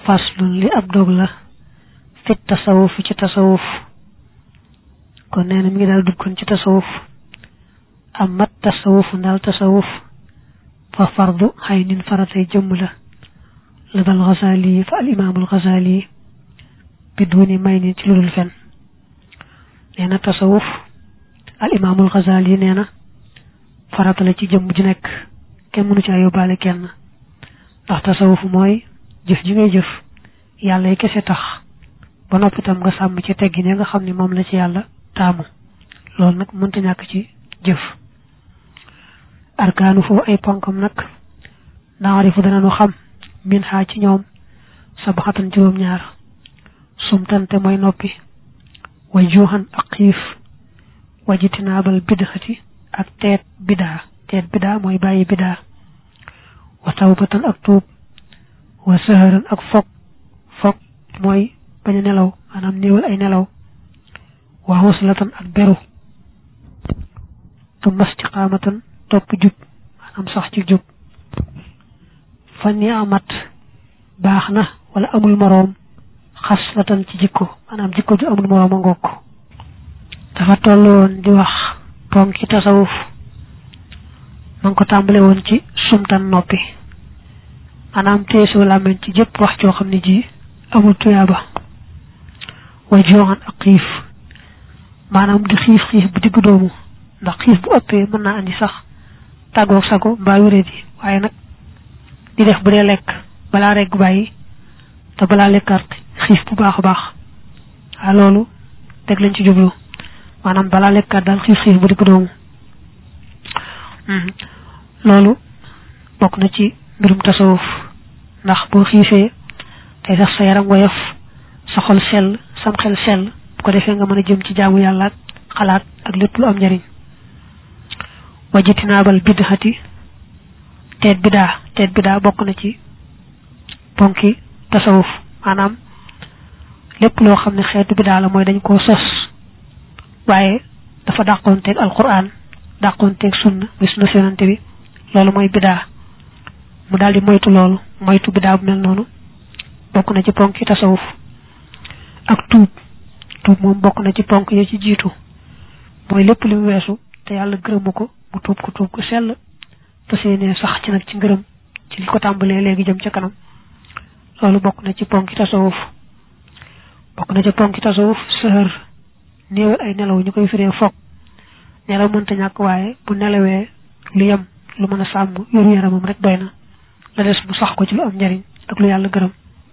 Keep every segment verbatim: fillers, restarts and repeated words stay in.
faslun li ab dog la fi tasawuf ci tasawuf kon nee na mi ngi daal duggoon ci tasawuf amat tasawuf ndaal tasawuf fa fardu haynin faratay jëmm la la dal Ghazali fa al imaamul Ghazali biduni may ni ci ludul fen nee na tasawuf al imaamul Ghazali nee na farata la ci jëmm ju nekk kenn mënu ci yóbbaale kenn ndax tasawuf mooy jëf ji ngay jëf yàlla yi kese tax ba noppi tam nga sàmm ci teggi ne nga xam ne moom la ci yàlla taamu loolu nag mënta ñàkk ci jëf arkaanu foofu ay ponkam nag naarifu danañu xam min xaa ci ñoom sabaxatan juróom-ñaar sumtante mooy noppi wa juuxan ak xiif wajitinaabal bidxati ak teet bidaa teet bidaa mooy bàyyi bidaa wa tawbatan ak tuub wa saharan ak fog fog mooy bañ a nelaw maanaam néewal ay nelaw wa xuslatan ak beru tu mastiqaamatan topp jub maanaam sax ci jub fa ni amat baax na wala amul moroom xaslatan ci jikko maanaam jikko ju amul moroom a ngokk dafa toll woon di wax ponki tasawuf ma ngi ko tàmbale woon ci sumtan noppi maanaam teesoo làmmiñ ci jëpp wax joo xam ne ji amul tuyaaba way joxan ak xiif maanaam di xiif xiif bu diggu doomu ndax xiif bu ëppee mën naa andi sax tàggoog sago mbaa wéré di waaye nag di def bu dee lekk balaa regg bàyyi te balaa lekkaat xiif bu baax a baax waaw loolu teg lañ ci jublu maanaam balaa lekkaat daal xiif xiif bu diggu doomu loolu bokk na ci mbirum tasawuf ndax boo xiifee tey sax sa yaram woyof sa xol sell sam xel sell bu ko defee nga mën a jëm ci jaamu yàlla ak xalaat ak lépp lu am njariñ wajitinaabal bidxati teet bidaa teet bidaa bokk na ci ponki tasawuf maanaam lépp loo xam ne xeetu bidaa la mooy dañ koo sos waaye dafa dàqoonteeg alquran dàqoonteeg sunna muy sunna yonante bi loolu mooy bidaa mu daal di moytu loolu moytu bidaa bu mel noonu bokk na ci ponki tasawuf ak tuub tuub moom bokk na ci ponk yi ci jiitu mooy lépp li mu weesu te yàlla gërëmu ko mu tuub ko tuub ko sell te seenee sax ci nag ci ngërëm ci li ko tàmbalee léegi jëm ca kanam loolu bokk na ci ponki tasawuf bokk na ci ponki tasawuf sëhër néewal ay nelaw ñu koy firee foog nelaw mënta ñàkk waaye bu nelawee lu yem lu mën a sàmm yoru yaramam rek doy na la des mu sax ko ci lu am njariñ ak lu yàlla gërëm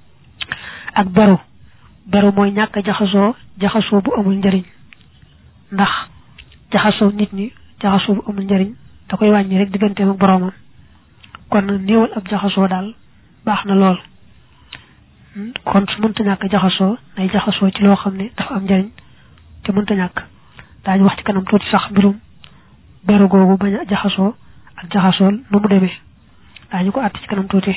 ak beru beru mooy ñàkk jaxasoo jaxasoo bu amul njariñ ndax jaxasoo nit ñi jaxasoo bu amul njariñ da koy wàññi rek digganteem ak boroomam kon néewal ab jaxasoo daal baax na lool kon su mënta ñàkk jaxasoo nay jaxasoo ci loo xam ne dafa am njariñ te mënta ñàkk daañu wax ci kanam tuuti sax mbirum beru googu bañ a jaxasoo ak jaxasoo nu mu demee daañu ko àtt ci kanam tuuti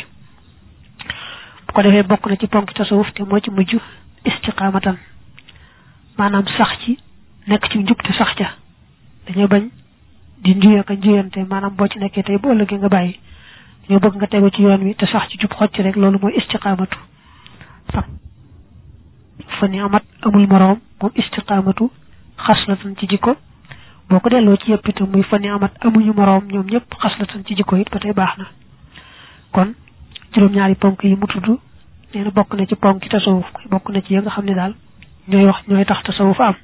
bu ko defee bokk na ci ponk tasawuf te moo ci mujj istiqaamatan maanaam sax ci nekk ci njub te sax ca dañoo bañ di njuye ak njuyante maanaam boo ci nekkee tey bu ëllëgee nga bàyyi dañoo bëgg nga tegu ci yoon wi te sax ci jub xocc rek loolu mooy istiqaamatu sax fa ni amat amul moroom moom istiqaamatu xaslatan ci jikko boo ko delloo ci yëpp itam muy fa ni amat amuñu moroom ñoom ñëpp xaslatan ci jikko it ba tey baax na kon juróom-ñaari ponk yi mu tudd nee na bokk na ci ponk yi tasawuf bokk na ci yi nga xam ne daal ñooy wax ñooy tax tasawuf am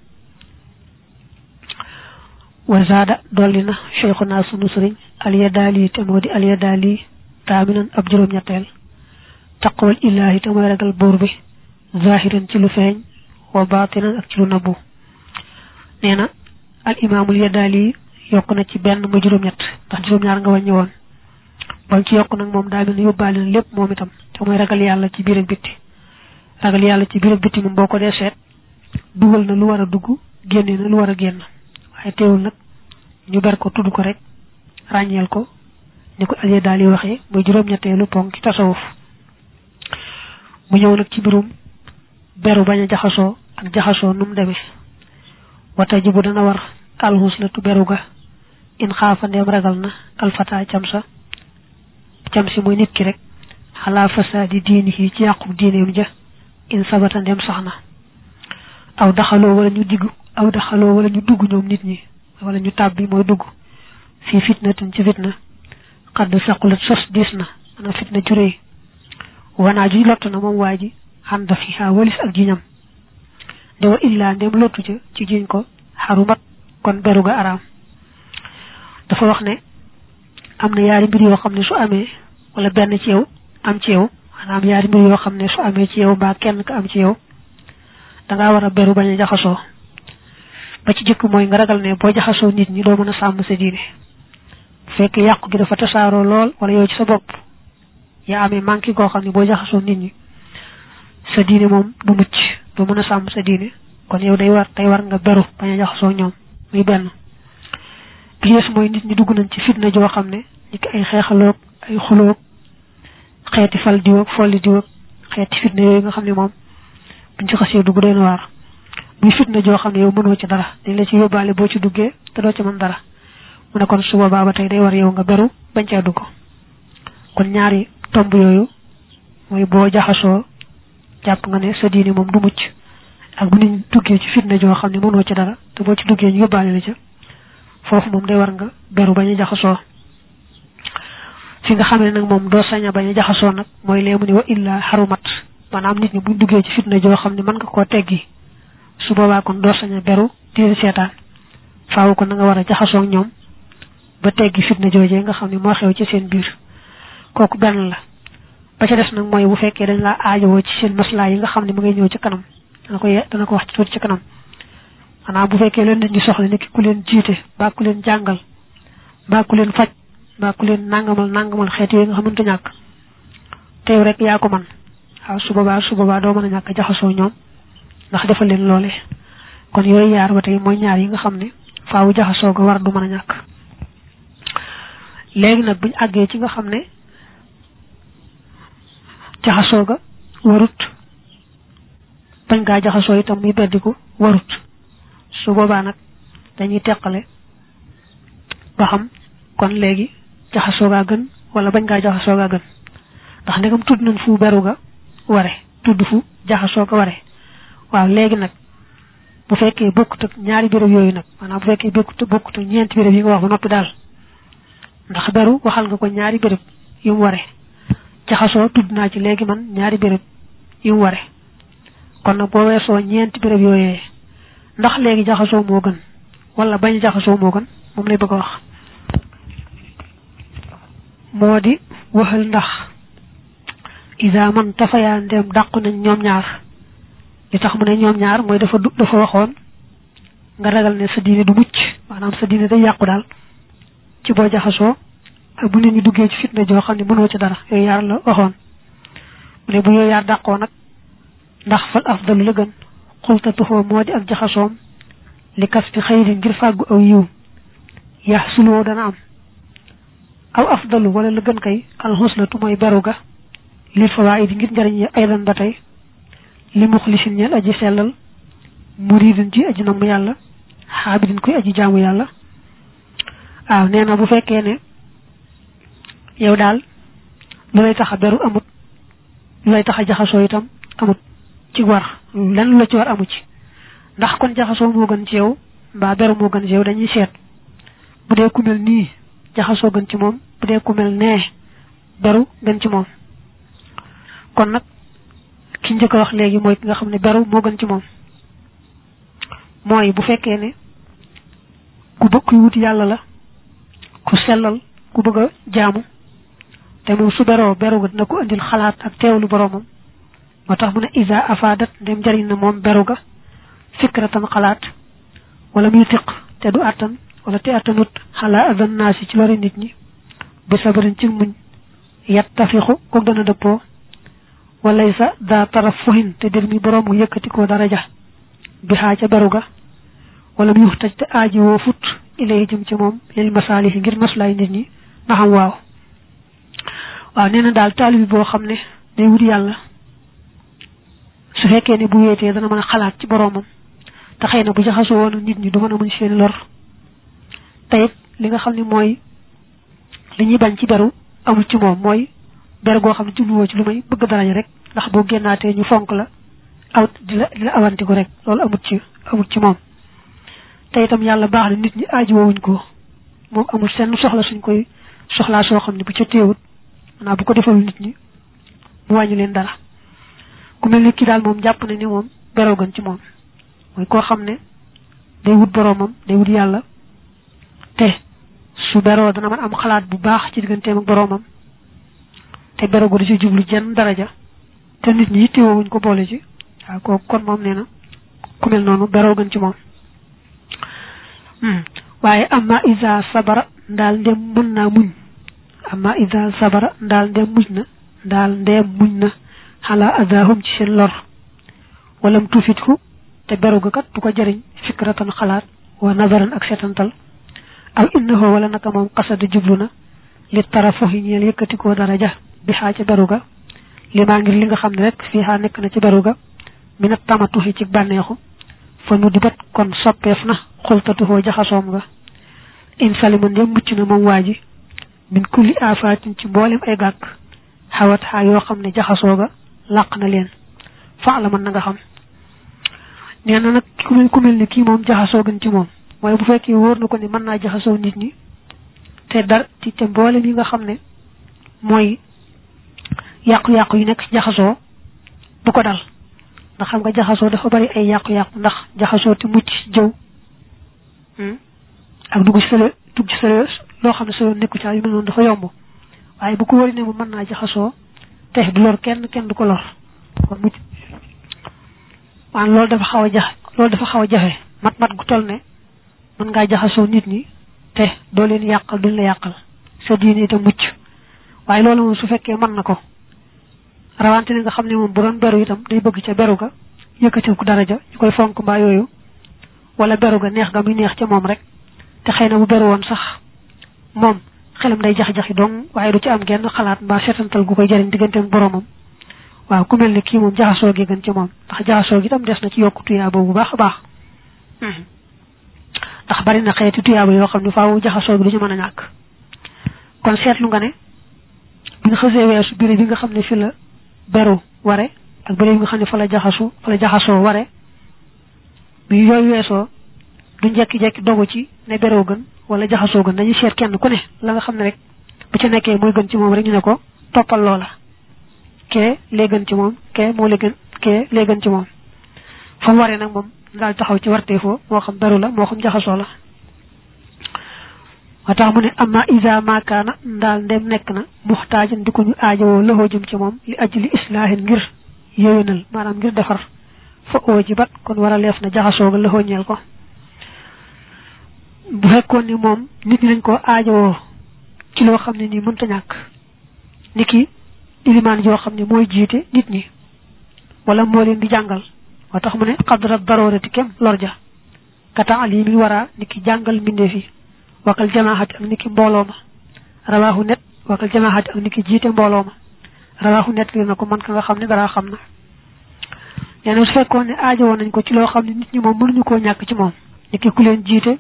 wa zaada dolli na cheikhuna sunu sëriñ alyadaali te moo di alyadaali taaminan ab juróom-ñetteel taqwal illaahi te mooy ragal buur bi zahiran ci lu feeñ wa baatinan ak ci lu nabbu nee na al imaamul yadaali yokk na ci benn mu juróom-ñett ndax juróom-ñaar nga wàññi woon ba ci yokk nag moom daa mel ne yóbbaale na lépp moom itam te mooy ragal yàlla ci biir ak bitti ragal yàlla ci biir ak bitti moom boo ko dee seet dugal na lu war a dugg génne na lu war a génn waaye teewul nag ñu ber ko tudd ko rek ràññeel ko ni ko alie daal yi waxee muy juróom-ñetteelu ponk ci tasawuf mu ñëw nag ci mbirum beru bañ a jaxasoo ak jaxasoo nu mu demee wata ji bu dana war alxus la tu beru ga in xaafa ndeem ragal na alfata cam sa cam si muy nit ki rek ala fasadi diinihi ci yàqu diineem ja in sabata ndem sax na aw daxaloo wala ñu digg aw daxaloo wala ñu dugg ñoom nit ñi wala ñu tàbbi mooy dugg fii fitnatin ci fitna xadd saqulat sos diis na ana fitna juréy wanaa ji lott na moom waa ji xan da fiha walis ak jiñam de wa illaa ndem lottu ca ci jiñ ko xarumat kon beru ga araam dafa wax ne am na yaari mbir yoo xam ne su amee wala benn ci yow am ci yow maanaam yaari mbir yoo xam ne su amee ci yow mbaa kenn ka am ci yow dangaa war a beru bañ a jaxasoo ba ci jëkk mooy nga ragal ne boo jaxasoo nit ñi doo mën a sàmm sa diine bu fekkee yàqu gi dafa tasaaroo lool wala yow ci sa bopp yaa amee manqué koo xam ne boo jaxasoo nit ñi sa diine moom du mucc doo mën a sàmm sa diine kon yow day war day war nga beru bañ a jaxasoo ñoom muy benn bi yees mooy nit ñi dugg nañ ci fitna joo xam ne ñi ki ay xeexaloog ay xuloog xeeti fal diwoog folli diwoog xeeti fitna yooyu nga xam ne moom buñ ci xasee dugg doy na waar muy fitna joo xam ne yow mënoo ci dara dañ la ci yóbbaale boo ci duggee te doo ci mën dara mu ne kon su boobaa ba tey day war yow nga beru bañ caa dugg kon ñaari tomb yooyu mooy boo jaxasoo jàpp nga ne sa diine moom du mucc ak bu nit duggee ci fitna joo xam ne mënoo ci dara te boo ci duggee ñu yóbbaale la ca foofu moom day war nga beru bañ a jaxasoo fi nga xamee nag moom doo sañ a bañ a jaxasoo nag mooy lee mu ne wa illa xarumat maanaam nit ñi buñ duggee ci fitna joo xam ne mën nga koo teggi su boobaa kon doo sañ a beru di seetaan faaw ko na nga war a jaxasoo ak ñoom ba teggi fitna joojee nga xam ne moo xew ci seen biir kooku benn la ba ca des nag mooy bu fekkee dañ laa aajowoo ci seen maslaa yi nga xam ne mu ngay ñëw ci kanam dana ko dana ko wax ci tuuti ci kanam maanaam bu fekkee leen nit ñi soxla ni ki ku leen jiite mbaa ku leen jàngal mbaa ku leen faj mbaa ku leen nangamal nangamal xeet yooyu nga xamante ñàkk teew rek yaa ko man waaw su boobaa su boobaa doo mën a ñàkk jaxasoo ñoom ndax defal leen loole kon yooyu yaar ba tey mooy ñaar yi nga xam ne faawu jaxasoo ga war du mën a ñàkk léegi nag buñ àggee ci nga xam ne jaxasoo ga warut bañ ngaa jaxasoo itam muy beddiku warut su boobaa nag dañuy teqale ba xam kon léegi jaxasoo gaa gën wala bañ ngaa jaxasoo gaa gën ndax ndegam tudd nañ fu beru ga ware tudd fu jaxasoo ga ware waaw léegi nag bu fekkee bokkut ak ñaari béréb yooyu nag maanaam bu fekkee bokkut bokkut ak ñeenti béréb yi nga wax ba noppi daal ndax beru waxal nga ko ñaari béréb yu mu ware jaxasoo tudd naa ci léegi man ñaari béréb yu mu ware kon nag boo weesoo ñeenti béréb yooyee ndax léegi jaxasoo moo gën wala bañ jaxasoo moo gën moom lay bëgg a wax moo di waxal ndax isa man tafayaa ndem dàqu nañ ñoom ñaar li tax mu ne ñoom ñaar mooy dafa du dafa waxoon nga ragal ne sa diine du mucc maanaam sa diine day yàqu daal ci boo jaxasoo ak bu nit ñi duggee ci fitna joo xam ne mënoo ci dara yooyu yaar la waxoon mu ne bu yooyu yaar dàqoo nag ndax fal afdalu la gën xultatuxoo moo di ak jaxasoom li kas bi xëyri ngir fàggu aw yiw yax suloo dana am aw afdalu wala la gën kay alxuslatu mooy beru ga lil fawaidi ngir njariñ yi aydan ba tey li muxlisin ñeel aji sellal muridin ji aji namm yàlla xaabidin koy aji jaamu yàlla waaw nee na bu fekkee ne yow daal lu lay tax a beru amut lu lay tax a jaxasoo itam amut ci war lenn lu la ci war amu ci ndax kon jaxasoo moo gën ci yow mbaa beru moo gën ci yow dañuy seet bu dee ku mel nii jaxasoo gën ci moom bu dee ku mel nee beru gën ci moom kon nag ki njëkk a wax léegi mooy ki nga xam ne beru moo gën ci moom mooy bu fekkee ne ku bëgg kuy wut yàlla la ku sellal ku bëgg a jaamu te moom su beroo beru ga dina ko indil xalaat ak teewlu boroomam moo tax mu ne isa afadat ndem jariñ na moom beru ga fikratan xalaat wala muy tiq te du attan wala te attanut xalaa adan naasi ci lori nit ñi bi sabarin ci muñ yat tafixu ko dana dëppoo walay sa daa taraf fuhin te dir mi boroom mu yëkkati ko daraja bi xaa ca beru ga wala muy wax taj te aaji woo fut ilay jëm ci moom lil masaalihi ngir maslaay nit ñi na xam waaw waaw nee na daal taalibi boo xam ne day wut yàlla su fekkee ne bu wéetee dana mën a xalaat ci boroomam te xëy na bu jaxasoo woon nit ñi du mën a muñ seen lor te it li nga xam ne mooy li ñuy bañ ci beru amul ci moom mooy ber goo xam ne jubluwoo ci lu may bëgg daraja rek ndax boo génnaatee ñu fonk la aw di la di la awantiku rek loolu amut ci amut ci moom te itam yàlla baax na nit ñi aajuwoowuñ ko moom amul seen soxla suñ koy soxlaa soo xam ne bu ca téewut maanaam bu ko defal nit ñi mu wàññi leen dara ku mel ni kii daal moom jàpp na ni moom beroo gën ci moom mooy koo xam ne day wut boroomam day wut yàlla te su beroo dana mën am xalaat bu baax ci digganteem ak boroomam te beroo gu di ci jublu jenn daraja te nit ñi yittewoowuñ ko boole ci waaw kooku kon moom nee na ku mel noonu beroo gën ci moom waaye amma isa sabara ndaal ndem mën naa muñ amma isa sabara ndaal ndem muñ na ndaal ndem muñ na xalaa adahum ci seen lor walam tufitku te beru ga kat du ko jëriñ fikratan xalaat wa nazaran ak setantal aw innahu wala naka moom xasada jublu na li tarafuhi ñeel yëkkatikoo daraja bi xaa ca beru ga li maa ngir li nga xam ne rek fii xaa nekk na ci beru ga minat tamatuhi ci bànneexu fa nu di bat kon soppeef na xultatuhoo jaxasoom nga in salima ndem mucc na moom waa ji min kulli afaatin ci mboolem ay gàkk xawat xaa yoo xam ne jaxasoo ga làq na leen fa la mën na nga xam nee na nag ku mel ku mel ni kii moom jaxasoo gën ci moom mooy bu fekkee wóor na ko ne mën naa jaxasoo nit ñi te dar ci te mboolem yi nga xam ne mooy yàqu-yàqu yi nekk ci jaxasoo bu ko dal ndax xam nga jaxasoo dafa bari ay yàqu-yàqu ndax jaxasoo te mucc jëw ak dugg ci sale dugg ci sale loo xam ne solo nekku ci yu mel noonu dafa yomb waaye bu ko wari ne mu mën naa jaxasoo te du lor kenn kenn du ko lor kon mucc waan loolu dafa xaw a jax loolu dafa xaw a jafe mat-mat gu toll ne mën ngaa jaxasoo nit ñi te doo leen yàqal duñ la yàqal sa diine itam mucc waaye loolu moom su fekkee mën na ko rawante ne nga xam ne moom bu doon beru itam day bëgg ca beru ga yëkkati ko daraja ñu koy fonk mbaa yooyu wala beru ga neex ga muy neex ca moom rek te xëy na bu beru woon sax moom xelam day jax-jaxi dong waaye du ci am genn xalaat mbaa seetantal gu koy jëriñ digganteem boromam waaw ku mel ne kii moom jaxasoo gi gën ci moom ndax jaxasoo gi itam des na ci yokku tuyaaba bu baax a baax ndax bari na xeeti tuyaaba yoo xam ne faaw jaxasoo gi du ci mën a ñàkk kon seetlu nga ne bi nga xasee weesu biri bi nga xam ne fi la beru ware ak biri bi nga xam ne fa la jaxasu fa la jaxasoo ware bi yooyu weesoo du njekki-jekki dogu ci ne beroo gën wala jaxasoo gën dañuy seet kenn ku ne la nga xam ne rek bu ca nekkee mooy gën ci moom rek ñu ne ko toppal loola kee lee gën ci moom kee moo lee gën kee lee gën ci moom fa mu waree nag moom daal taxaw ci warteefoo moo xam beru la moo xam jaxasoo la wa tax mu ne amma isa maakaana ndaal ndem nekk na muxtaajan di ko ñu aajowoo loxoo jëm ci moom li ajli islaahin ngir yéwénal maanaam ngir defar fa oo ji bat kon war a leef na jaxasoo ga loxoo ñeel ko bu fekkoon ni moom nit ñi lañ ko aajowoo ci loo xam ne nii mënta ñàkk ni ki ilimaan joo xam ne mooy jiite nit ñi wala moo leen di jàngal moo tax mu ne xadra daroorati kem lor ja ka taalimi wara ni ki jàngal mbindeef yi wakal jamaahati ak ni ki mbooloo ma rawaahu net wakal jamaahati ak ni ki jiite mbooloo ma rawaahu net li na ko man ka nga xam ne dara xam na nee na su fekkoon ne aajowoo nañ ko ci loo xam ne nit ñi moom mënuñu koo ñàkk ci moom ni ki ku leen jiite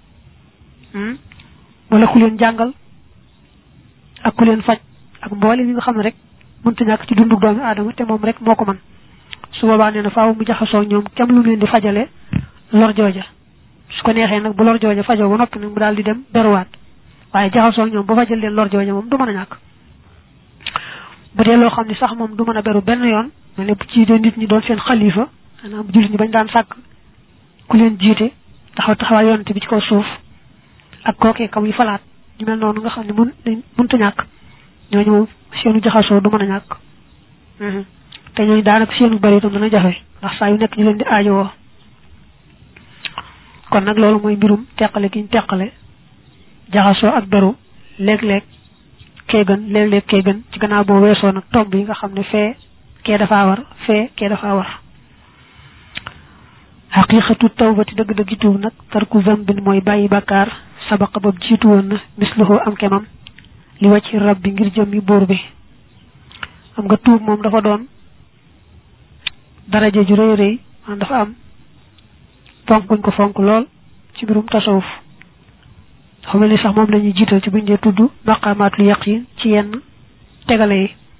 wala ku leen jàngal ak ku leen faj ak mboole yi nga xam ne rek mënta ñàkk ci dundu doomi aadama te moom rek moo ko man su boobaa nee na faaw mu jaxasoo ñoom kem lu leen di fajale lor jooja su ko neexee nag bu lor jooja fajoo ba noppi nag mu daal di dem beruwaat waaye jaxasoo ñoom ba fajal leen lor jooja moom du mën a ñàkk bu dee loo xam ne sax moom du mën a beru benn yoon ma ne bu ci de nit ñi doon seen xalifa maanaam jullit ñi bañ daan sàkk ku leen jiite taxaw taxawaa yonante bi ci kaw suuf ak kookee kam yi falaat ñu mel noonu nga xam ne mun mënta ñàkk ñooñu moom seenu jaxasoo du mën a ñàkk te ñooñu daanaka seenu bari itam dana jafe ndax saa yu nekk ñu leen di aajowoo kon nag loolu mooy mbirum teqale gi ñu teqale jaxasoo ak beru léeg-léeg kee gën léeg-léeg kee gën ci gannaaw boo weesoo nag tomb yi nga xam ne fee kee dafaa war fee kee dafaa war xaqiqatu tawbati dëgg-dëggi tuub nag tarku zambin mooy bàyyi bàkkaar sabaqa bab jiitu woon na misluhu am kemam li wàcc rab bi ngir jëmmi buur bi am nga tuub moom dafa doon daraje ju rëy rëy man dafa am fonk guñ ko fonk lool ci mbirum tasawuf dafa mel ni sax moom la ñuy jiital ci buñ dee tudd maqaamaatul yaqin ci yenn tegale yi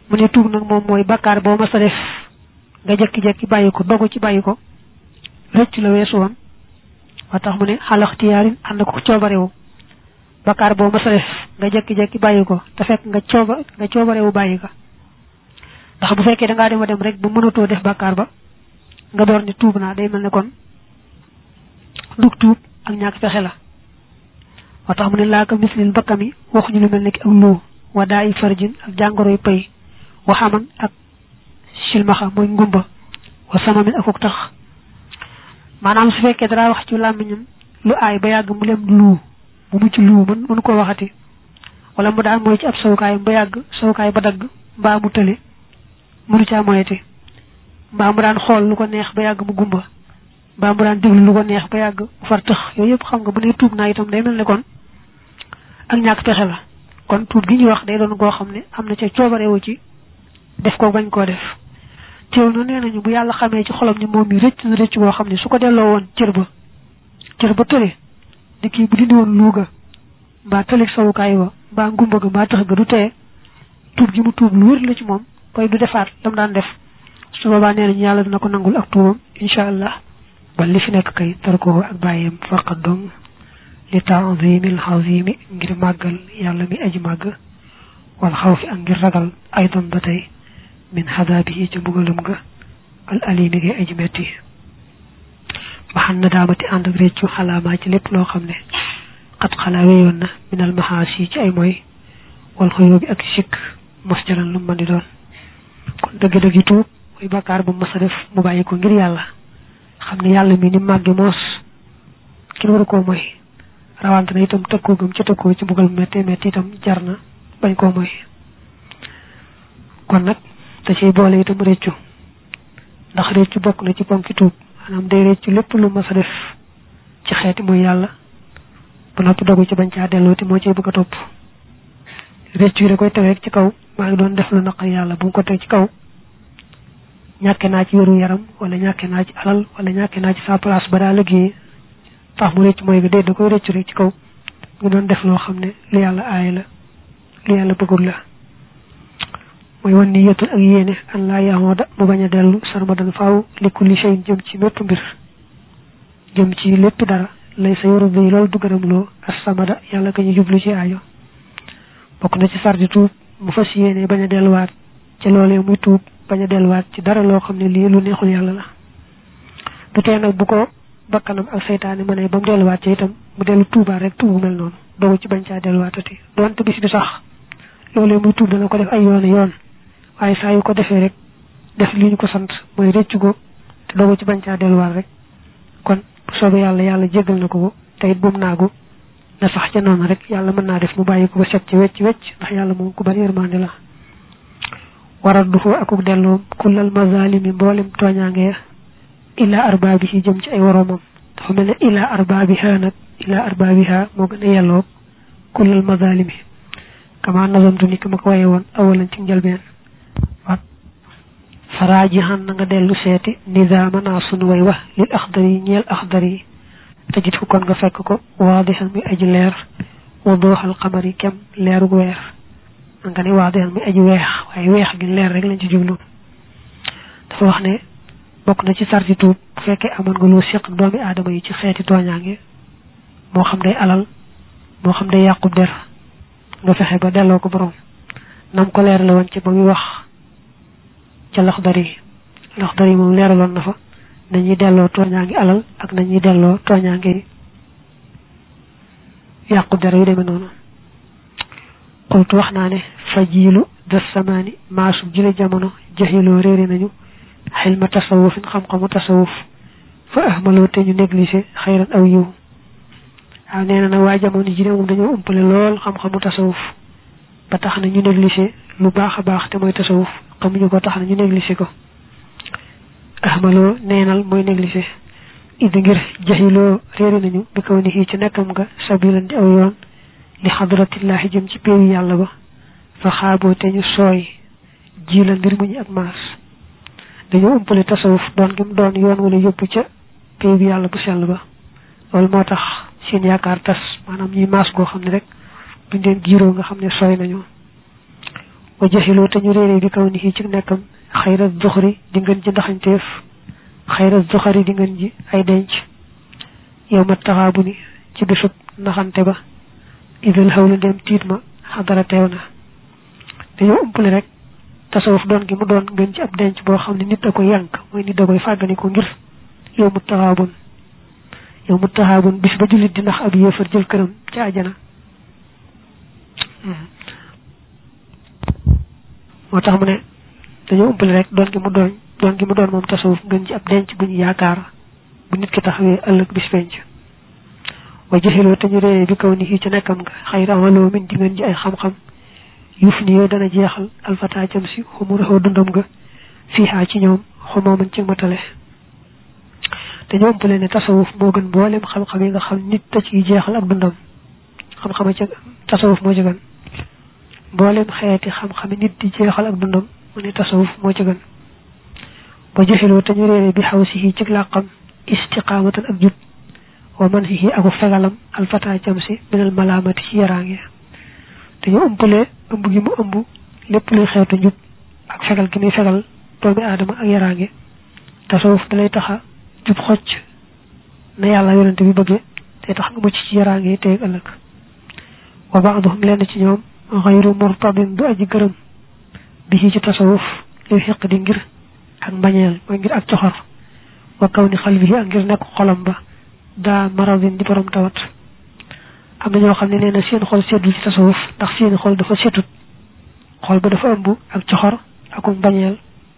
mu ne tuub nag moom mooy bakkaar boo ma sa def nga jekki-jekki bàyyi ko dogu ci bàyyi ko rëccu la weesu woon wa tax mu ne xalaxtiyaarin ànd ko coobarewu bakkaar boo ma sa def nga jekki-jekki bàyyi ko te fekk nga cooba nga coobarewu bàyyi ko ndax bu fekkee da ngaa dem a dem rek bu mënatoo def bakkaar ba nga door ni tuub naa day mel ne kon dug tuub ak ñàkk fexe la wa tax mu ne laa ko mislil bakkami waxuñu lu mel ne ki ak luu wa daa i farjin ak jàngoroy pay waxaman ak silmaxa mooy ngumba wa samamin akuk tax maanaam su fekkee dara wax ci làmmiñam lu aay ba yàgg mu lem luu bu mucc luu mën mënu koo waxati wala mu daan mooy ci ab sawukaayam ba yàgg sawukaay ba dagg mbaa mu tële mënu caa moyeti mbaa mu daan xool lu ko neex ba yàgg mu gumba mbaa mu daan déglu lu ko neex ba yàgg mu far tëx yooyu yëpp xam nga bu ne tuub naa itam day mel ne kon ak ñàkk pexe la kon tuub gi ñuy wax day doon goo xam ne am na ca coobarewu ci def ko bañ koo def teew na nee nañu bu yàlla xamee ci xolam ni moom mi rëcc na rëcc goo xam ne su ko delloo woon cër ba cër ba tële di kii bu dindi woon luuga mbaa tëlig sawukaay wa mbaa ngumba ga mbaa tëx ga du teye tuub gi mu tuub lu wér la ci moom koy du defaat lam daan def su boobaa nee nañu yàlla dina ko nangul ak tuubam incha allah ba li fi nekk kay tarko ak bàyyeem faqat dong li ta'zimil azimi ngir màggal yàlla mi aji màgg wal xawfi ak ngir ragal aydan ba tey min xadaabihi ca mbugalam ga al alimi ngay aji metti maxan na daamati ànd ak réccu xalaamaa ci lépp loo xam ne xat xalaa weyoon na minal maxaasi ci ay mooy wal xuyoo bi ak sikk mos jalan lu mën di doon kon dëgg-dëgg yi tuub mooy bakkaar bu mas a def mu bàyyi ko ngir yàlla xam ne yàlla mi ni màgge moos kenn waru koo mooy rawante na itam tëkkoo gëm ca tëkkoo ci mbugal metti metti itam jar na bañ koo mooy kon nag da ciy boole itam réccu ndax réccu bokk na ci ponki tuub maanaam day réccu lépp lu mas a def ci xeeti mooy yàlla ba noppi dogu ci bañ caa dellooti moo ciy bëgg a topp réccu yi da koy teg ci kaw maa ngi doon def lu naqar yàlla bu mu ko teg ci kaw ñàkke naa ci wéru yaram wala ñàkke naa ci alal wala ñàkke naa ci sa place ba daa liggéey tax mu réccu mooy bi dee da koy réccu rek ci kaw nga doon def loo xam ne lu yàlla aay la lu yàlla bëggul la mooy wan ni yetul ak yéene an laa yaamoo da mu bañ a dellu sarmadan faaw li kulli shay'in jëm ci mépp mbir jëm ci lépp dara lay sa yoru bi loolu du gërëm loo as-samada yàlla ka ñu jublu ci aajo bokk na ci sardi tuub mu fas yéene bañ a delluwaat ci loolee muy tuub bañ a delluwaat ci dara loo xam ne lii lu neexul yàlla la du tee nag bu ko bakkanam ak seytaane ma ne ba mu delluwaat ci itam mu dellu tuubaat rek tuubu mel noonu dogu ci bañ caa delluwaatati doonte bis bi sax loolee muy tuub dana ko def ay yoon yoon waaye saa yu ko defee rek def li ñu ko sant mooy réccu ko te dogu ci bañ caa delluwaat rek kon bu soobee yàlla yàlla jéggal na ko te it bu mu naagu na sax ca noonu rek yàlla mën naa def mu bàyyi ko ba set ci wecc wecc ndax yàlla moom ku bari yërmande la waral du foo akuk delloom kullal mazalimi mboolem tooñaange illa arbaabihi jëm ci ay woroomam dafa mel ne illa arbaabiha nag illa arbaabiha moo gën a yelloo kullal mazalimi kama nazamtu ni ki ma ko waye woon awalan ci njëlbeen wat faraaji xan na nga dellu seeti nizaama naa sunu way wax lil axdar yi ñeel axdar yi tajit fu kon nga fekk ko waadixan muy aji leer wa dooxal xamar yi kem leerug weer nga ne waadixan muy aji weex waaye weex gi leer rek lañ ci jublu dafa wax ne bokk na ci sarti tuub bu fekkee amoon nga loo seq doomi aadama yi ci xeeti tooñaange moo xam day alal moo xam day yàqub der nga fexe ba delloo ko borom nam ko leerale woon ci ba muy wax ca laxdar yi laxdar yi moom leeraloon na fa nañuy delloo tooñaangi alal ak nañuy delloo tooñaangi yàqu der yu demee noonu xultu wax naa ne fa jiilu des samaani maasu jile jamono jaxiloo réere nañu xilma tasawufin xam-xamu tasawuf fa ahmaloo te ñu négligé xayran aw yiw waaw nee na nag waa jamono ji ne moom dañoo umpale lool xam-xamu tasawuf ba tax na ñu négligé lu baax a baax te mooy tasawuf xamuñu ko tax na ñu négligé ko ahmaloo neenal mooy négligé idi ngir jaxiloo réere nañu bi kaw ni ci nekkam nga sabilan di aw yoon li xadratillahi jëm ci péewu yàlla ba fa xaaboo te ñu sooy ji la mbir mu ñu ak maas dañoo umpale tasawuf doon gi mu doon yoon wala yóbbu ca péewu yàlla bu sell ba loolu moo tax seen yaakaar tas maanaam ñuy maas goo xam ne rek buñ leen giiroo nga xam ne sooy nañu wa jaxiloo te ñu réeree bi kaw ni ci nekkam xayra zuxri di ngeen ji ndaxanteef xayra zuxari di ngeen ji ay denc yow ma taxaabu ni ci bisub naxante ba idal xawlu ndem tiit ma xadara teew na dañoo umpale rek tasawuf doon gi mu doon ngeen ci ab denc boo xam ne nit da koy yànk mooy nit da koy fàggani ko ngir yow mu taxaabun yow mu taxaabun bis ba jullit di nax ab yéefar jël këram ci àjjana moo tax mu ne dañoo umpale rek doon gi mu doon doon gi mu doon moom tasawuf ngeen ci ab denc bu ñu yaakaar bu nit ki taxawee ëllëg bis penc wa jaxiloo te ñu réeree bi kaw ni ci nekkam nga xayra amaloo min di ngeen ji ay xam-xam yuf ni yooyu dana jeexal alfata jëm si xumuraxoo dundam nga fiixaa ci ñoom xumoo mën ci matale dañoo umpale ne tasawuf moo gën mboolem xam-xam yi nga xam nit da ciy jeexal ak dundam xam-xama ca tasawuf moo ci gën mboolem xeeti xam-xam nit di jeexal ak dundam mu ne tasawuf moo ci gën ba jaxiloo te ñu réeree bi xaw si ci làqam istiqaamatan ak jub wa man hihi aku fegalam alfata jam si minal malaamati ci yaraange dañoo ëmpalee ëmb gi mu ëmb lépp luy xeetu njub ak fegal gi muy fegal doomi aadama ak yaraange tasawuf da lay taxa jub xocc na yàlla yonente bi bëggee te tax nga mucc ci yaraange yi teeg ëllëg wa baaduhum lenn ci ñoom xayru murtadin du aji gërëm bi ci tasawuf luy xeq di ngir ak mbañeel mooy ngir ak coxor wa kaw ni xal bi ak ngir nekk xolam ba daa maradin di borom tawat am na ñoo xam ne nee na seen xol seddul ci tasawuf ndax seen xol dafa setut xol ba dafa ëmb ak coxor ak mbañeel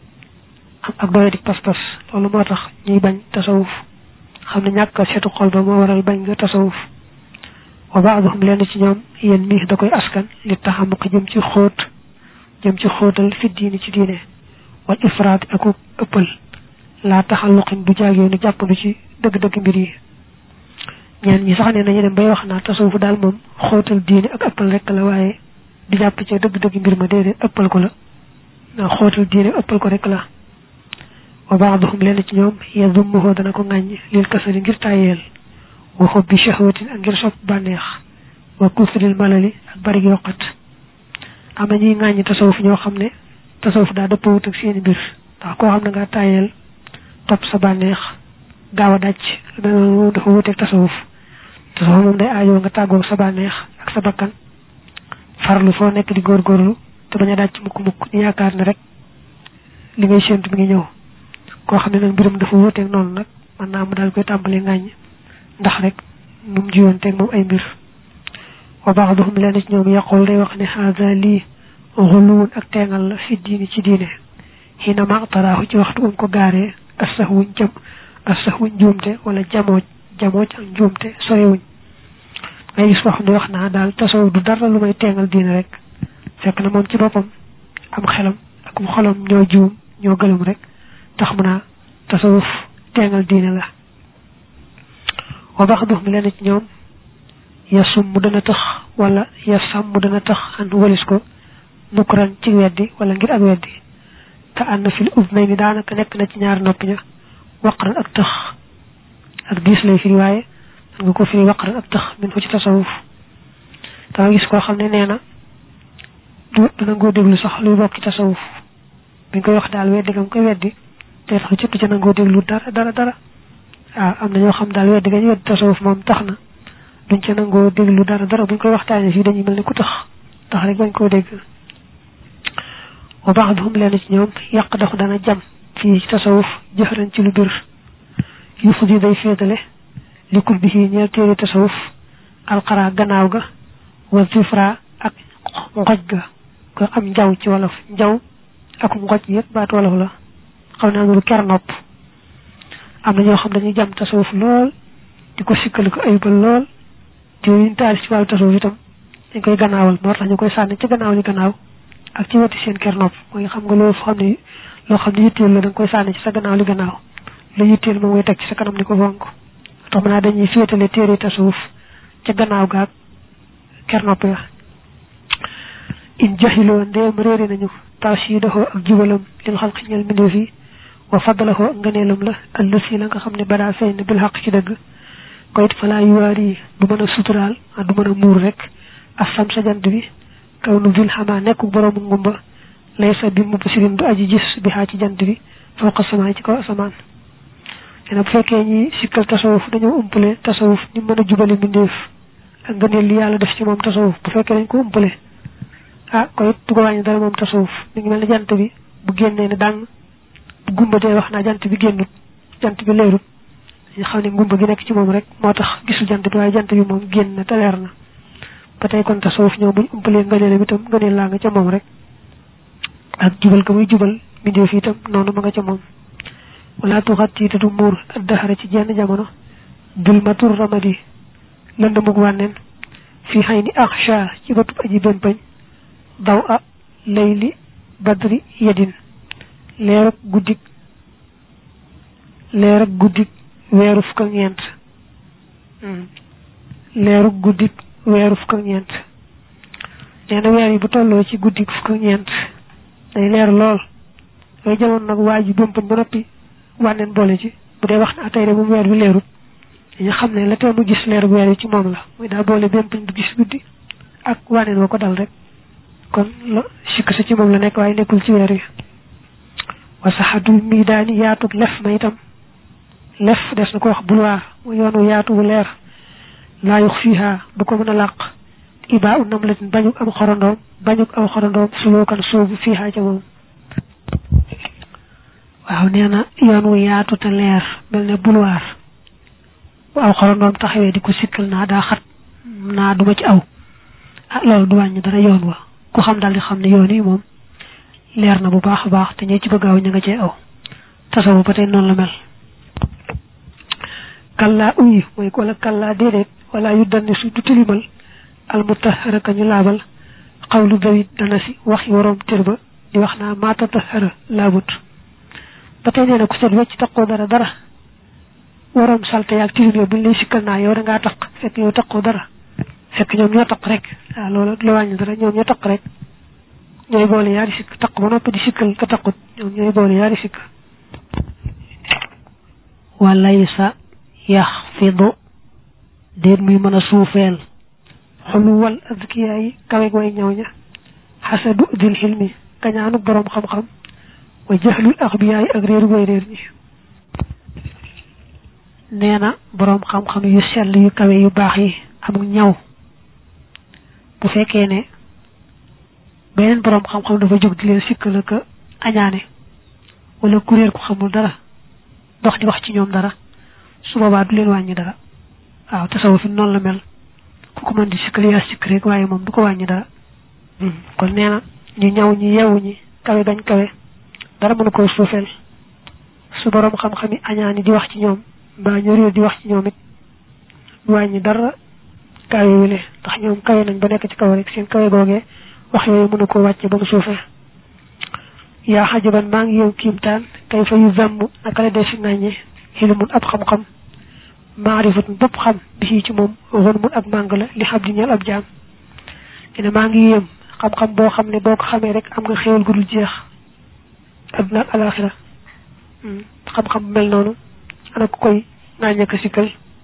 ak doye di pas-pas loolu moo tax ñuy bañ tasawuf xam ne ñàkk setu xol ba moo waral bañ nga tasawuf wa baaduhum lenn ci ñoom yéen mii da koy askan li taxamuq jëm ci xóot jëm ci xóotal fi diini ci diine wal ifraat ak ëppal laa taxalluqin bu jaagee nu jàppandu ci dëgg-dëgg mbir yi ñeen ñi sax ne nañu dem bay wax naa tasawuf daal moom xóotal diine ak ëppal rek la waaye di jàpp ci dëgg-dëgg mbir ma déedéet ëppal ko la naa xóotal diine ëppal ko rek la wa baaduhum lenn ci ñoom yazummuhu dana ko ŋàññ lil kasali ngir tàyyeel wa xubbi shahwatin ak ngir sopp bànneex wa kusril malali ak bari yokkat am na ñuy ŋàññ tasawuf ñoo xam ne tasawuf daa dëppawut ak seeni mbir ndax koo xam ne nga tàyyeel topp sa bànneex gaaw a dàcc loolu dafa wuteeg tasawuf tasawuf moom day aajoo nga tàggoo sa bànneex ak sa bakkan farlu foo nekk di góorgóorlu te bañ a dàcc mukk-mukk ñu yaakaar ne rek li ngay séentu mi ngi ñëw koo xam ne nag mbiram dafa wuteeg noonu nag mën naa mu daal koy tàmbalee ngàññ ndax rek nu mu jiwoon teeg moom ay mbir wa baaduhum lenn ci ñoom yaqul day wax ne haada lii xuluwun ak teengal la fi diini ci diine xiina ma taraaxu ci waxtu um ko gaaree asax wuñ jam asax wuñ njuumte wala jamooj jamooj ak njuumte sorewuñ ngay gis koo xam ne wax naa daal tasawuf du dara lu may teengal diine rek fekk na moom ci boppam am xelam ak mu xolam ñoo juum ñoo gëlum rek tax mu naa tasawuf teengal diine la wa baaduhum lenn ci ñoom yasum mu dana tax wala yasam mu dana tax an walis ko nukran ci weddi wala ngir ak weddi ka ànd fil udnay ni daanaka nekk na ci ñaari nopp ña waqran ak tax ak diis lay firi waaye man nga ko firi waqran ak tax min ko ci tasawuf dama gis koo xam ne nee na du dana ngoo déglu sax luy bokk ci tasawuf biñ koy wax daal weddi nga koy weddi te tax ci ca nangoo déglu dara dara dara waaw am na ñoo xam daal weddi gañ weddi tasawuf moom tax na duñ ca nangoo déglu dara dara buñ koy waxtaanee fii dañuy mel ni ku tax tax rek bañ koo dégg wa baaduhum leen ci ñoom yàq dafa dana jam fii ci tasawuf jëfran ci lu bir yu fudi day féetale likul bi ci ñeel téere tasawuf alxara gannaaw ga wa zifra ak ngoj ga ko am njaw ci wolof njaw ak ngoj yëpp baat wolof la xaw naa nuru ker nopp am na ñoo xam dañuy jam tasawuf lool di ko sikkali ko ayibal lool te yuñ taal ci wàllu tasawuf itam dañ koy gannaawal moo tax ñu koy sànni ci gannaaw li gannaaw ak ci wetu seen ker nopp mooy xam nga loolu xam ne loo xam ne yitteel la da nga koy sànni ci sa gannaaw li gannaaw la yitteel moom mooy teg ci sa kanam ni ko fonk tax mën naa dañuy féetale téere tasawuf ca gannaaw gaag ker nopp ya in jaxiloo ndeem réere nañu tawsiidahoo ak jubalam lil xalqi ñeel mbindeef yi wa faddalahoo ak ngëneelam la allësi la nga xam ne badaa feeñ na bil xaq ci dëgg ko it falaa yuwaari du mën a suturaal du mën a muur rek asam sa jant bi kaw nu vil xamaa nekku boroomu ngumba laysa bi mubsirin du aji gis bi xaa ci jant bi fawqa samaa ci kaw asamaan ene bu fekkee ñi sikkal tasawuf dañoo umpale tasawuf ni mën a jubale mbindeef ak ngëneel li yàlla def ci moom tasawuf bu fekkee dañ ko umpale ah koy du ko wàññi dara moom tasawuf mi ngi mel ne jant bi bu génnee ne dàng bu gumba dee wax naa jant bi génnut jant bi leerut ñu xam ne ngumba gi nekk ci moom rek moo tax gisul jant bi waaye jant bi moom génn na te leer na ba tey kon tasawuf ñoom buñ umpalee ngëneelam itam ngëneel laa nga ca moom rek ak jubal ko muy jubal mbindeef itam noonu ma nga ca moom wala tuxatti te du muur ak daxara ci jenn jamono dul matur ramadi lëndamug wànneen fii xëy ni axsha ci bëtub aji bémpañ daw a layli badri yedin leer ak guddik leer ak guddik weeru fukk ak ñeent leer ak guddik weeru fukk ak ñeent nee na weer yi bu tolloo ci guddik fukk ak ñeent day leer lool yooyu jamono nag waa ji bémpañ ba noppi wànneen boole ci bu dee wax na tey de moom weer bi leerut dañu xam ne la tee mu gis leer weer yi ci moom la muy daa boole bémpañ bu gis guddi ak wànneen wa ko dal rek kon la sikk sa ci moom la nekk waaye nekkul ci weer yi wasaxadul mii daani yaatug lef ma itam lef des na ko wax bulwaar mu yoonu yaatu bu leer laa yux fiiha du ko mën a làq ibaa u nam latin bañuk am xorondoom bañuk am xorondoom sulookan soobu fiiha ca moom waaw nee na yoon wu yaatu te leer mel ne bulwaar bu aw xorondoom taxawee di ko sikkal naa daa xat naa duma ci aw ah loolu du wàññi dara yoon wa ku xam daal di xam ne yoon yi moom leer na bu baax a baax te ñee ci bëgg aw ña nga cee aw tasawu ba tey noonu la mel kallaa uyi mooy wala kallaa déedéet wala yu danni su du tilimal almutahara ka ñu laabal xawlu dawit dana si waxi waroom tër ba di wax naa maata tahara laabut ba tey nee na ku set wecc taqoo dara dara waroom salte yaag tilim yow buñ lay sikkal naa yow da ngaa taq fekk yow taqoo dara fekk ñoom ñoo taq rek waaw loolu la wàññi dara ñoom ñoo taq rek ñooy boole yaari sikk taq ba noppi di sikkal ka taqut ñoom ñooy boole yaari sikk walaysa yaxfidu déet muy mën a suufeel xuluwal azkiya yi kawe way ñëw ña xasadu dil xilmi kañaanu borom xam-xam wa jaxlul axbiya yi ak réeru way réer ñi nee na borom xam-xam yu sell yu kawe yu baax yi amul ñaw bu fekkee ne beneen borom xam-xam dafa jóg di leen sikkal ak añaane wala kuréel ku xamul dara dox di wax ci ñoom dara su boobaa du leen wàññi dara waaw tasawuf fi noonu la mel ku ko mën di sikkal yaa sikk rek waaye moom du ko wàññi dara kon nee na ñu ñaw ñi yeewu ñi kawe bañ kawe dara mënu ko suufeel su borom xam-xam yi añaani di wax ci ñoom mbaa ñu réer di wax ci ñoom it du wàññi dara kawe wile ndax ñoom kawe nañ ba nekk ci kaw rek seen kawe googee wax yooyu mënu ko wàcce ba mu suufee yaa xajaban maa ngi yow kiimtaan kay fa yu zamm naka la dee fi nàññe xilmun ab xam-xam maarifatun bopp xam bi ci moom xon mun ab màng la li xam di ñeel ab jaam dina maa ngi yéem xam-xam boo xam ne boo ko xamee rek am nga xéewal gu dul jeex adduna ak alaxira xam-xam mel noonu ana ku koy nàññe ko sikkal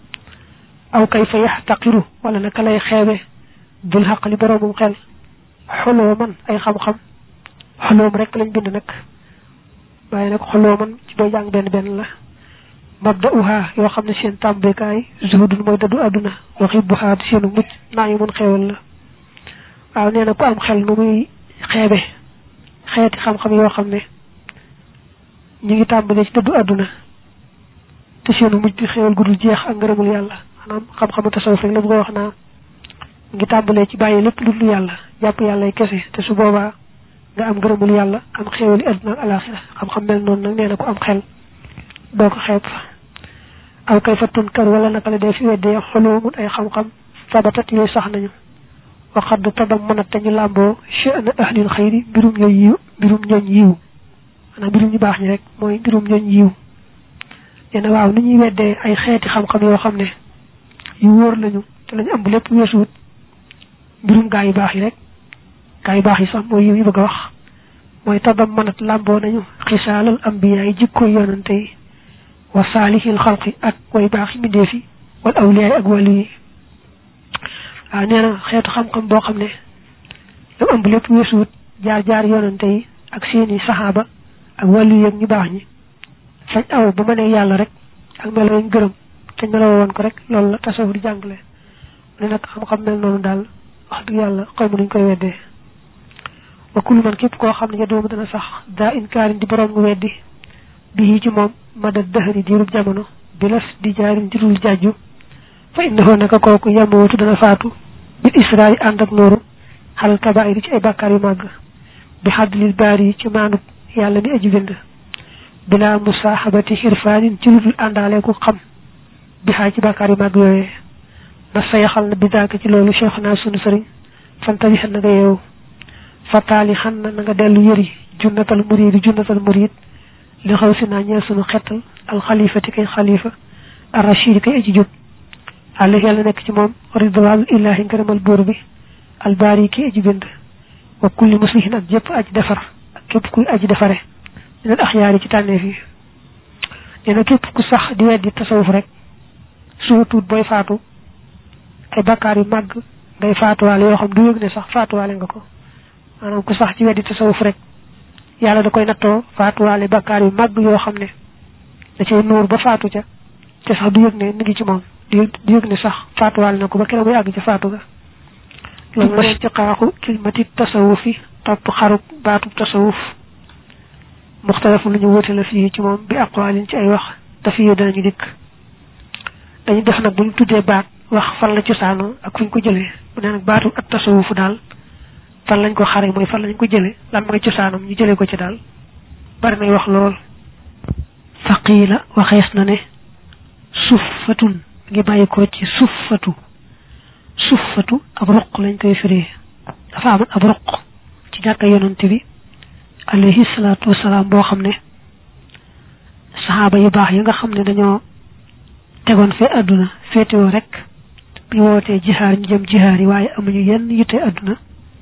aw kay fa yax taqiru wala naka lay xeebe dul xaq li boroomum xel xoloo man ay xam-xam xoloom rek lañ bind nag waaye nag xoloo man ci booy jàng benn benn la mabda uha yoo xam ne seen tàmbekaay zuhudun mooy dadu àdduna waxi buhaa seenu mucc naa yu mun xewal la waaw nee na ku am xel nu muy xeebe xeeti xam-xam yoo xam ne ñu ngi tàmbalee ci dadu àdduna te seenu mucc bi xewal gudul jeex ak ngërëmul yàlla maanaam xam-xamu tasawuf rek la bu ko wax naa ngi tàmbalee ci bàyyi lépp lu dul yàlla jàpp yàlla kese te su boobaa nga am ngërëmul yàlla am xéewali àdduna ak alaxira xam-xam mel noonu nag nee na ko am xel doo ko xeeb aw kay fa tunkar wala naka la dee fi weddee xoloomun ay xam-xam sabatat yooyu sax nañu waxad tabam mënat te ñu làmboo sha'na ahlil xayri mbirum ñooñ yiw mbirum ñooñ yiw maanaam mbirum ñu baax ñi rek mooy mbirum ñooñ yiw nee na waaw ni ñuy weddee ay xeeti xam-xam yoo xam ne yu wóor lañu te lañu am lépp weesuwut mbirum gaa yu baax yi rek gaa yu baax yi sax mooy yiw yi bëgg a wax mooy tabam mënat làmboo nañu xisaalal ambiya yi jikko yonante yi wa saalihil xalqi ak way baax yi mbindeef yi wal awliya yi ak wàllu yi waaw nee na xeetu xam-xam boo xam ne lu ëmb lépp weesuwut jaar jaar yonante yi ak seeni saxaaba ak wàllu yeeg ñu baax ñi fañ aw ba mënee yàlla rek ak melo ñu gërëm te meloo woon ko rek loolu la tasawuf di jàngale ne nag xam-xam mel noonu daal wax dëgg yàlla xaw ma nuñ koy weddee wa kullu man képp koo xam ne ya doomu dana sax daa inkaarin di borom nga weddi bii ci moom mada dëhëri diirub jamono bi las di jaarin ci dul jàjju fa innahu naka kooku yamootu dana faatu bil israa yi ànd ak nooru xalal kabaayir ci ay bàkkaar yu màgg bi xaddlil baari yi ci maanub yàlla mi aji bind bila musaaxabati xirfaanin ci lu dul àndaale ku xam bi xaay ci bàkkaar yu màgg yooyee na sayaxal na bidaaka ci loolu cheikh naa sunu sëriñ fantabi xan na nga yeewu fataali xan na na nga dellu yëri junnatal muriidi junnatal muriid li xaw si naa ñeel sunu xettal alxalifati kay xalifa arrachidi kay aji jub àlla yàlla nekk ci moom ridwaanul illaahi ngërëmal buur bi albaari kay aji bind wa kulli muslihin ak jëpp aji defar ak képp kuy aji defare minal axyaari ci tànneef yi nee na képp ku sax di weddi tasawuf rek soo tuut booy faatu ay bakkaar yu màgg ngay faatuwaale yoo xam du yëg ne sax faatuwaale nga ko maanaam ku sax ci weddi tasawuf rek yàlla da koy nattoo faatuwaale bakkaar yu màgg yoo xam ne da cay nuur ba faatu ca te sax du yëg ne mi ngi ci moom du yëg ne sax faatuwaale na ko ba keroog muy àgg ca faatu ga loolu mooy istiqaaqu kilmati tasawufi topp xarub baatub tasawuf muxtalafu lu ñu wóote la fii ci moom bi aqwaalin ci ay wax dafa yee danañu dikk dañu def nag bu ñu tuddee baat wax fan la cosaanoo ak fu ñu ko jëlee bu ne nag baatu ak tasawufu daal fan lañ ko xare mooy fan lañ ko jëlee lan mooy cosaanam ñu jëlee ko ci daal bari nay wax lool faqiila waxees na ne suffatun ngi bàyyi ko ci suffatu suffatu ab ruq lañ koy firee dafa am ab ruq ci jàkka yonent bi alayhi salaatu wasalaam boo xam ne saxaaba yu baax yi nga xam ne dañoo tegoon fee àdduna féetewoo rek bi wootee jihaar ñu jëm jihaar yi waaye amuñu yenn yitte àdduna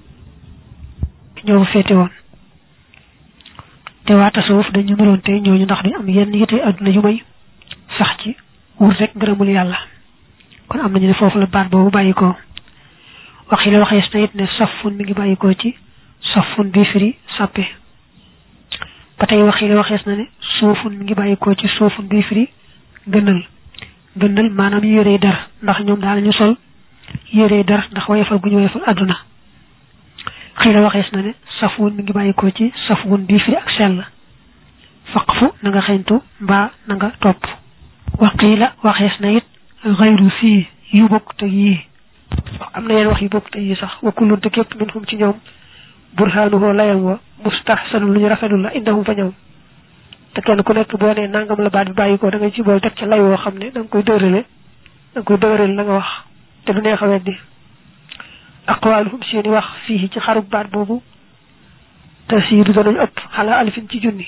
ñoo féete woon te waa tasawuf dañu meloon tey ñooñu ndax duñ am yenn yitte àdduna yu may sax ci wut rek ngërëmul yàlla kon am nañu ne foofu la baat boobu bàyyi ko wax yi la waxees na it ne safun mi ngi bàyyi ko ci safun bi firi sàppe ba tey wax yi la waxees na ne suufun mi ngi bàyyi ko ci suufun bi firi gënal gënal maanaam yérey dar ndax ñoom daanañu sol yérey dar ndax wayefal gu ñu wayefal àdduna xëy la waxees na ne safun mi ngi bàyyi ko ci safun bi firi ak sell faqfu na nga xeñtu mbaa na nga topp waqii la waxees na it xayru fii yu bokk te yii am na yenn wax yu bokk te yii sax wa kullun te képp min hum ci ñoom burhaanuhoo layam wa mustahsanu lu ñu rafetlu la indahum fa ñoom te kenn ku nekk boo nee nangam la baat bi bàyyi ko da ngay ci bool teg ca lay woo xam ne da nga koy dëgërale da nga koy dëgërale la nga wax te du neex a weddi aqwaaluhum seeni wax fii ci xarub baat boobu te siidu danañu ëpp xalaa alifin ci junni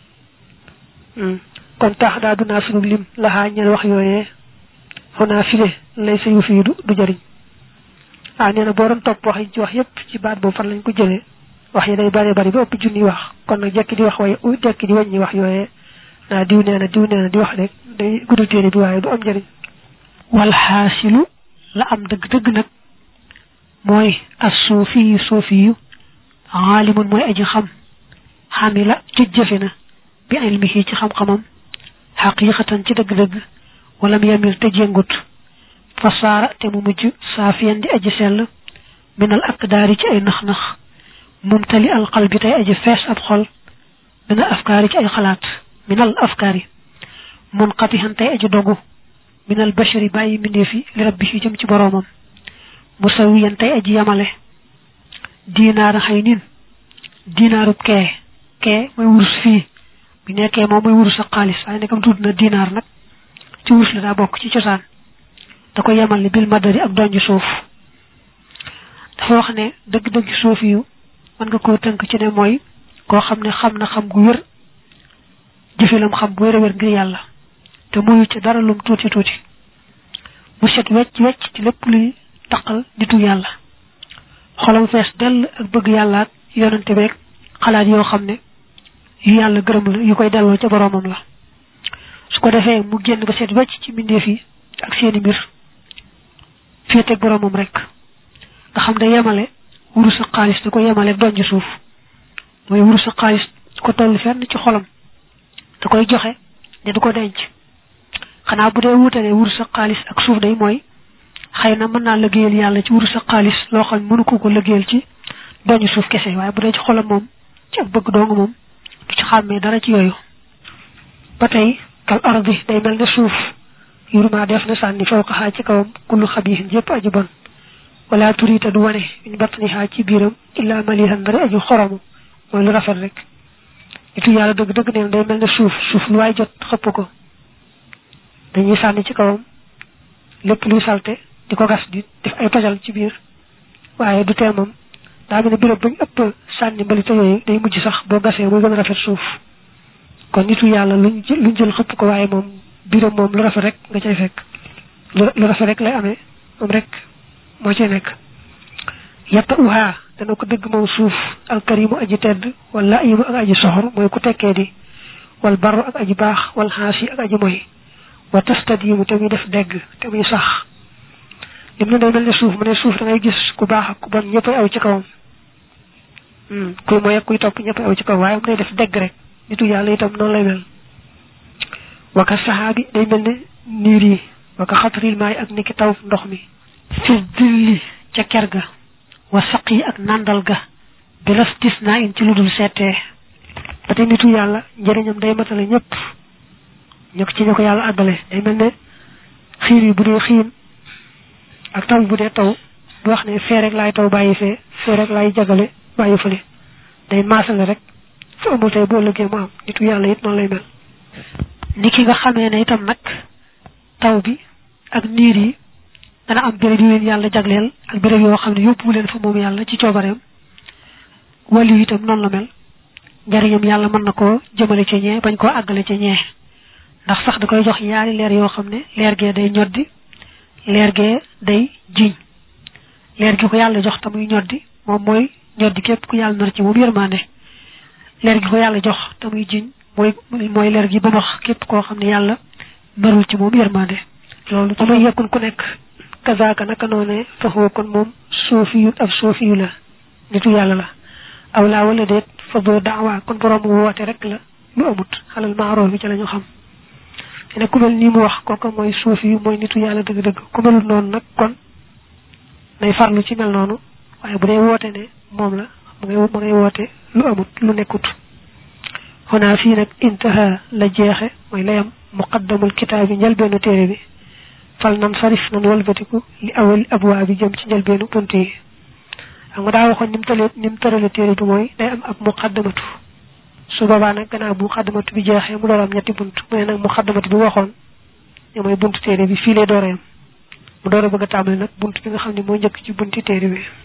kon tax daa dunaa sunu lim laxaa ñeen wax yooyee xonaa file lay sa yu fii du du jëriñ ah nee na boo doon topp wax yi ci wax yépp ci baat boobu fan lañ ko jëlee wax yi day bari bari ba ëpp junni wax kon nag jekki di wax waaye jekki di wàññi wax yooyee naa diw nee na diw nee na di wax rek day guddal téere bi waaye du am njëriñ wal xaasilu la am dëgg-dëgg nag mooy as suufi suufi yu aalimun mooy aji xam xamila ci jëfe na bi ilmihi ci xam-xamam xaqiqatan ci dëgg-dëgg walam yamil te jéngut fasaara te mu mujj saafiyan di aji sell minal akdaari ci ay nax-nax mumtali al qalbi tey aji fees ab xol minal afkaari ci ay xalaat minal afkaari munqatihan tey aji dogu minal bashari bàyyi mbindeefi li rabbihi jëm ci boroomam musawiyan tey aji yamale diinaara xëy nin diinaarub kee kee mooy wurus fii bi nekkee moom mooy wurus ak xaalis waaye nekkam tudd na diinaar nag ci wurus la daa bokk ci cosaan da ko yemal ni bil madari ak donj suuf dafa wax ne dëgg-dëgg suuf yu mën nga koo tënk ci ne mooy koo xam ne xam na xam gu wér jëfilam xam bu wér a wér ngir yàlla te muyu ci dara lum tuuti tuuti mu set wecc wecc ci lépp luy taqal nitu yàlla xolam fees dell ak bëgg yàlla ak yonante beeg xalaat yoo xam ne yu yàlla gërëm la yu koy delloo ca boroomam la su ko defee mu génn ba set wecc ci mbindeef yi ak seeni mbir féeteeg boroomam rek nga xam ne yemale wurus ak xaalis da ko yemale donj suuf mooy wurus ak xaalis ko toll fenn ci xolam da koy joxe ne du ko denc xanaa bu dee wutale wurus ak xaalis ak suuf day mooy xëy na mën naa liggéeyal yàlla ci wurus ak xaalis loo xam mënu ko ko liggéeyal ci doñu suuf kese waaye bu dee ci xolam moom ci ak bëgg dong moom du ci xàmmee dara ci yooyu ba tey kal ardi day mel ne suuf yurma def na sànni fawqa xaa ci kawam kullu xabiisin yëpp aji bon wala turita du wane min batniha ci biiram illa malihan bari aji xoromu mooy lu rafet rek nitu yàlla dëgg dëgg neen day mel ne suuf suuf lu waay jot xëpp ko dañuy sànni ci kawam lépp luy salte di ko gas di def ay tojal ci biir waaye du tee moom daa mel ne béréb bañ ëpp sànni mbalite yooyu day mujj sax boo gasee muy gën a rafet suuf kon nitu yàlla luñ jël luñ jël xëpp ko waaye moom biiram moom lu rafet rek nga cay fekk lu rafet rek lay amee moom rek moo cay nekk yatta uha dana ko dëgg moom suuf alkarimu aji tedd wala ayimu ak aji soxor mooy ku tekkee di wal barru ak aji baax wal xaasi ak aji moy wa tastadimu te muy def dégg te muy sax lim na day mel ne suuf mu ne suuf da ngay gis ku baax ak ku bon ñëppay aw ci kawam kuy moy ak kuy topp ñëppay aw ci kawam waaye mu day def dégg rek nitu yàlla itam noonu lay mel waka saxaabi day mel ne niir yi waka xatril maay ak niki taw ndox mi fi dilli ca ker ga wa saq yi ak nandal ga bilastis naa in ci lu dul seetee ba tey nitu yàlla njëriñam day matale ñëpp ñu ko ci ñu ko yàlla àggale day mel ne xiir yi bu dee xiin ak taw bu dee taw du wax ne fee rek laay taw bàyyi fee fee rek laay jagale bàyyi fële day maasale rek fu amul tey boo lëggee mu am nitu yàlla it noonu lay mel ni ki nga xamee ne itam nag taw bi ak niir yi dana am béréb yu leen yàlla jagleel ak béréb yoo xam ne yóbbu leen fa moom yàlla ci coobareem wàllu itam noonu la mel njariñam yàlla mën na koo jëmale ci ñee bañ koo àggale ci ñee ndax sax da koy jox ñaari leer yoo xam ne leer gee day ñoddi leer gee day jiñ leer gi ko yàlla jox te muy ñoddi moom mooy ñoddi képp ku yàlla nar ci moom yërmande leer gi ko yàlla jox te muy jiñ mooy mooy leer gi ba wax képp koo xam ne yàlla narul ci moom yërmande loolu damay yekkun ku nekk kazaaka naka noone faxoo kon moom soofiyu ab soofiyu la nitu yàlla la aw laa wala déet fa doo daawa kon borom woote rek la lu amut xalal maaroo bi ci la ñu xam ne ku mel nii mu wax kooku mooy soofiyu mooy nitu yàlla dëgg-dëgg ku melul noonu nag kon nay farlu ci mel noonu waaye bu dee woote ne moom la ma ngay ma ngay woote lu amut lu nekkut xonaa fii nag intaha la jeexe mooy layam muqaddamul kitaab bi njëlbeenu téere bi fal nan sarif nan walbatiku li awal abwaa bi jëm ci njëlbeenu bunt yi xam nga daa waxoon ni mu tëlee ni mu tërale téere bi mooy day am ab muqaddamatu su boobaa nag gannaaw bu muqaddamatu bi jeexee mu door am ñetti bunt mu ne nag muqaddamatu bi waxoon ne mooy buntu téere bi fii lay dooree am mu door a bëgg a tàmbali nag bunt bi nga xam ne moo njëkk ci bunti téere bi